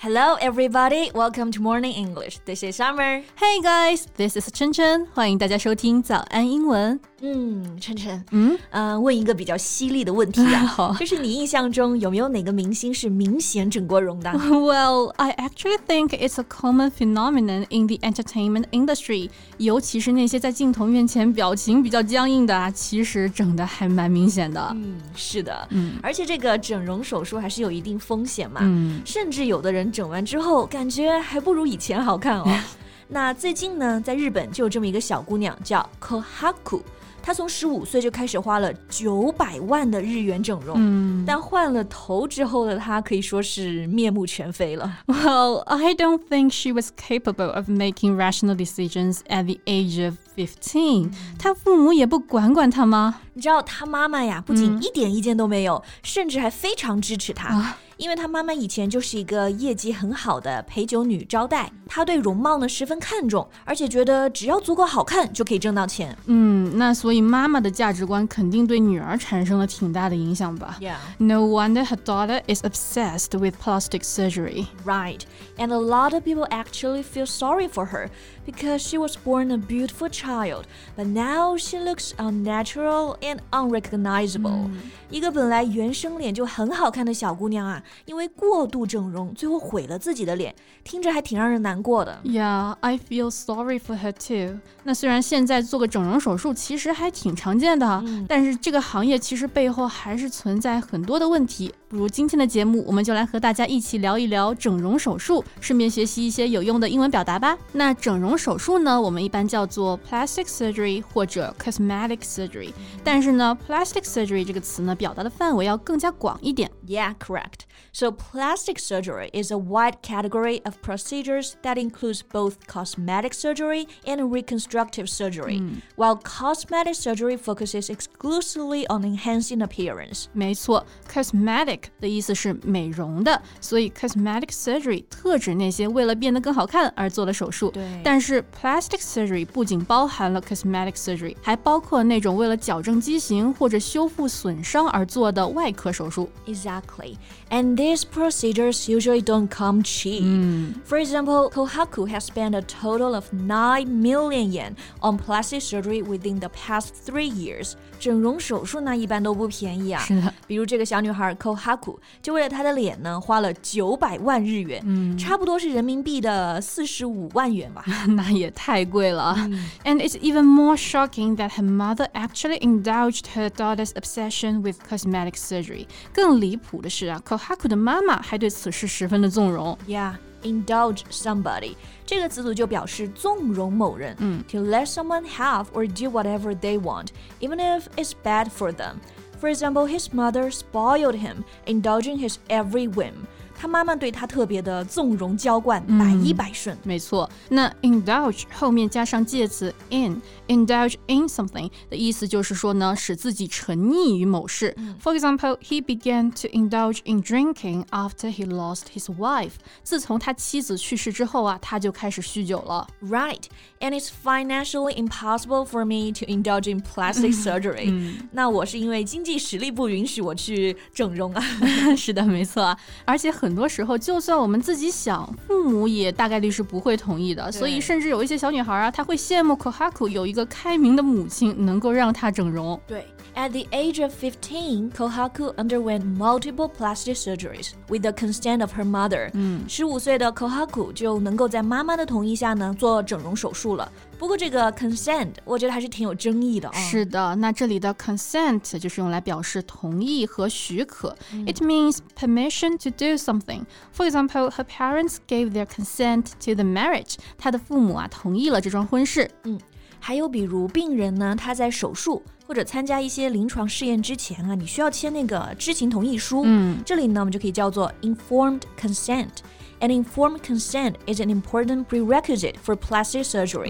Hello, everybody. Welcome to Morning English. This is Summer. Hey guys, this is 琛琛。欢迎大家收听早安英文。 琛琛，问一个比较犀利的问题啊，就是你印象中有没有哪个明星是明显整过容的 ？Well, I actually think it's a common phenomenon in the entertainment industry. 尤其是那些在镜头面前表情比较僵硬的啊，其实整的还蛮明显的。 是的，而且这个整容手术还是有一定风险嘛，甚至有的人整完之后感觉还不如以前好看哦。那最近呢，在日本就有这么一个小姑娘叫 Kohaku， 她从15岁就开始花了900万的日元整容，但换了头之后的她可以说是面目全非了。 Well, I don't think she was capable of making rational decisions at the age of 15. 她父母也不管她吗？ 你知道她妈妈呀，不仅一点意见都没有，甚至还非常支持她。因为她妈妈以前就是一个业绩很好的陪酒女招待，她对容貌呢十分看重，而且觉得只要足够好看就可以挣到钱。 那所以妈妈的价值观肯定对女儿产生了挺大的影响吧。 Yeah. No wonder her daughter is obsessed with plastic surgery. Right. And a lot of people actually feel sorry for her because she was born a beautiful child, but now she looks unnatural and unrecognizable. 一个本来原生脸就很好看的小姑娘啊，因为过度整容，最后毁了自己的脸，听着还挺让人难过的。 Yeah, I feel sorry for her too. 那虽然现在做个整容手术其实还挺常见的，但是这个行业其实背后还是存在很多的问题。不如今天的节目，我们就来和大家一起聊一聊整容手术，顺便学习一些有用的英文表达吧。那整容手术呢，我们一般叫做 plastic surgery 或者 cosmetic surgery， 但是呢 plastic surgery 这个词呢，表达的范围要更加广一点。 Yeah, correct. So plastic surgery is a wide category of procedures that includes both cosmetic surgery and reconstructive surgery, while cosmetic surgery focuses exclusively on enhancing appearance. 没错 ，cosmetic 的意思是美容的，所以 cosmetic surgery 特指那些为了变得更好看而做的手术。 对， 但是 plastic surgery 不仅包含了 cosmetic surgery， 还包括那种为了矫正畸形或者修复损伤而做的外科手术。 Exactly. And these procedures usually don't come cheap. For example, Kohaku has spent a total of 9 million yen on plastic surgery within the past 3 years. 整容手术呢，一般都不便宜啊。 是的， 比如这个小女孩 Kohaku 就为了她的脸呢，花了900万日元，差不多是人民币的45万元吧。 那也太贵了。And it's even more shocking that her mother actually indulged her daughter's obsession with cosmetic surgery. 更离谱的是啊 Kohaku 的妈妈还对此事十分的纵容。 Yeah, indulge somebody. 这个词组就表示纵容某人，to let someone have or do whatever they want, even if it's bad for them. For example, his mother spoiled him, indulging his every whim. 他妈妈对他特别的纵容娇惯，百依百顺。 没错，那 indulge 后面加上介词 in，indulge in something 的意思就是说呢，使自己沉溺于某事。For example, he began to indulge in drinking after he lost his wife. 自从他妻子去世之后啊，他就开始酗酒了。 Right, and it's financially impossible for me to indulge in plastic surgery. 那我是因为经济实力不允许我去整容啊。 是的，没错啊，而且很多时候，就算我们自己想，父母也大概率是不会同意的。所以，甚至有一些小女孩啊，她会羡慕 Kohaku 有一个开明的母亲，能够让她整容。 对 ，At the age of 15, Kohaku underwent multiple plastic surgeries with the consent of her mother. 15岁的 Kohaku 就能够在妈妈的同意下呢做整容手术了。不过这个 consent 我觉得还是挺有争议的啊。 是的，那这里的 consent 就是用来表示同意和许可。It means permission to do something. For example, her parents gave their consent to the marriage. 她的父母啊同意了这桩婚事。 还有比如病人呢，他在手术或者参加一些临床试验之前啊，你需要签那个知情同意书。这里呢我们就可以叫做 informed consent. And informed consent is an important prerequisite for plastic surgery. Right.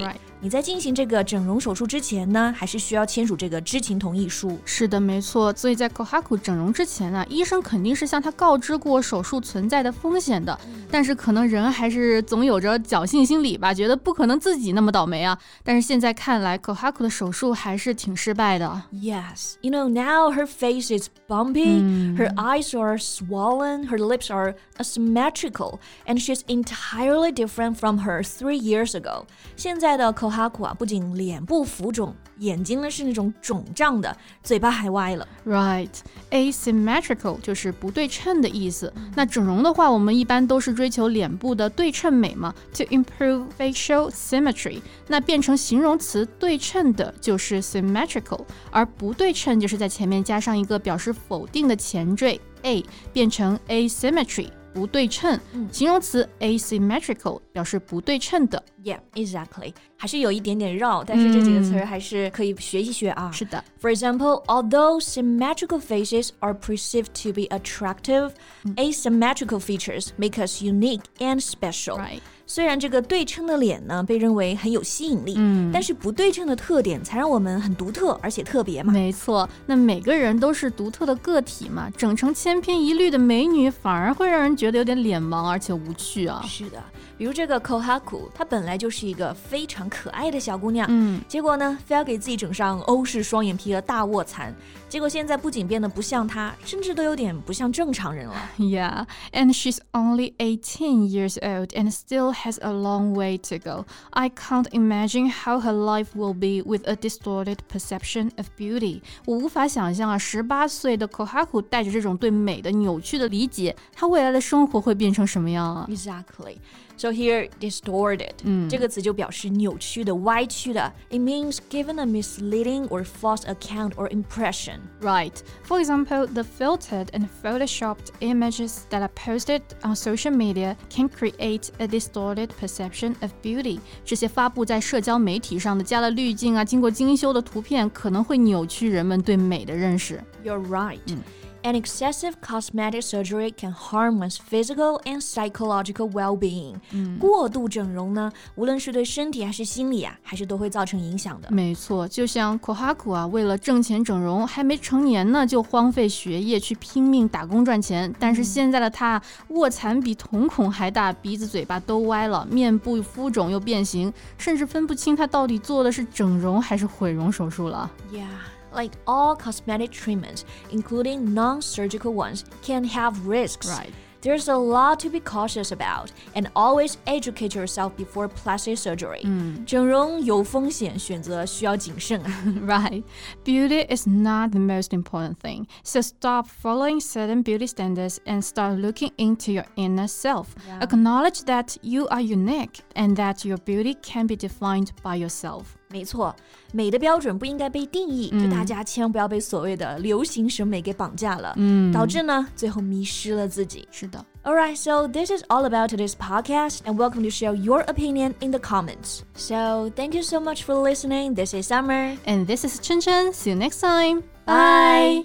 你在进行这个整容手术之前呢，还是需要签署这个知情同意书。 是的，没错。所以在 Kohaku 整容之前啊，医生肯定是向他告知过手术存在的风险的，但是可能人还是总有着侥幸心理吧，觉得不可能自己那么倒霉啊。但是现在看来 Kohaku 的手术还是挺失败的。 Yes, you know, now her face is bumpy, her eyes are swollen, her lips are asymmetrical, and she's entirely different from her 3 years ago. 现在的 Kohaku 啊，不仅脸部浮肿，眼睛呢是那种肿胀的，嘴巴还歪了。 Right, asymmetrical 就是不对称的意思。那整容的话，我们一般都是追求脸部的对称美嘛 ，to improve facial symmetry。那变成形容词对称的就是 symmetrical， 而不对称就是在前面加上一个表示否定的前缀 a， 变成 asymmetry。不对称，形容词 asymmetrical 表示不对称的。 Yeah, exactly. 还是有一点点绕，但是这几个词还是可以学一学啊。 是的。 For example, although symmetrical faces are perceived to be attractive, asymmetrical features make us unique and special. Right. 虽然这个对称的脸呢被认为很有吸引力，但是不对称的特点才让我们很独特而且特别嘛。 没错，那每个人都是独特的个体嘛，整成千篇一律的美女反而会让人觉得有点脸盲而且无趣啊。 是的，比如这个 Kohaku， 她本来就是一个非常可爱的小姑娘，结果呢非要给自己整上欧式双眼皮和大卧蚕，结果现在不仅变得不像她，甚至都有点不像正常人了。 Yeah, and she's only 18 years old and still has a long way to go. I can't imagine how her life will be with a distorted perception of beauty. 我无法想象啊，18岁的 Kohaku 带着这种对美的扭曲的理解，她未来的生活会变成什么样啊？ Exactly. So here, distorted 这个词就表示扭曲的、歪曲的。It means given a misleading or false account or impression. Right. For example, the filtered and photoshopped images that are posted on social media can create a distorted perception of beauty. 这些发布在社交媒体上的加了滤镜啊、经过精修的图片，可能会扭曲人们对美的认识。 You're right.And excessive cosmetic surgery can harm one's physical and psychological well-being. 过度整容呢，无论是对身体还是心理啊，还是都会造成影响的。 没错，就像 Kohaku 啊，为了挣钱整容，还没成年呢，就荒废学业去拼命打工赚钱。但是现在的他，卧蚕比瞳孔还大，鼻子嘴巴都歪了，面部浮肿又变形，甚至分不清他到底做的是整容还是毁容手术了。 Yeah.Like all cosmetic treatments, including non-surgical ones, can have risks. Right. There's a lot to be cautious about, and always educate yourself before plastic surgery. 整容有风险，选择需要谨慎啊。 Right. Beauty is not the most important thing. So stop following certain beauty standards and start looking into your inner self. Acknowledge that you are unique and that your beauty can be defined by yourself. 没错，美的标准不应该被定义，就大家千万不要被所谓的流行审美给绑架了，导致呢最后迷失了自己。 是的。 Alright, so this is all about today's podcast, and welcome to share your opinion in the comments. So thank you so much for listening. This is Summer. And this is Chen Chen. See you next time. Bye.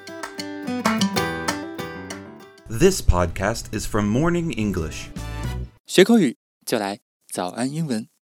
This podcast is from Morning English. 学口语就来早安英文。